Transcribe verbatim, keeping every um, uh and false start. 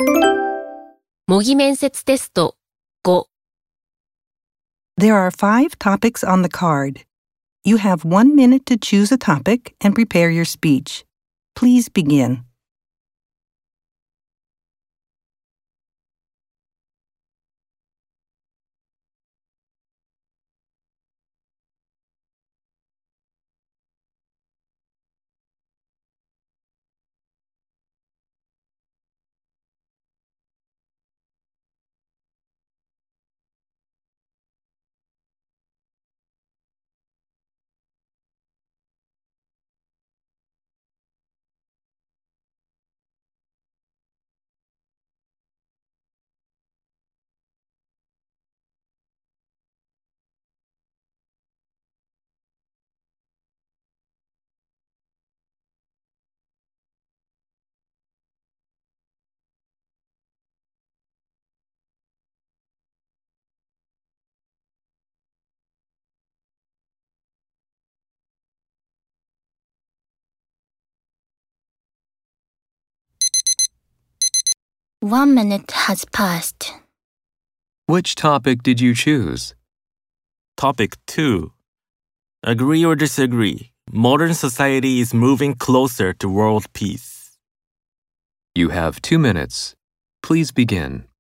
模擬面接テストご There are five topics on the card. You have one minute to choose a topic and prepare your speech. Please begin. One minute has passed. Which topic did you choose? Topic two. Agree or disagree, modern society is moving closer to world peace. You have two minutes. Please begin.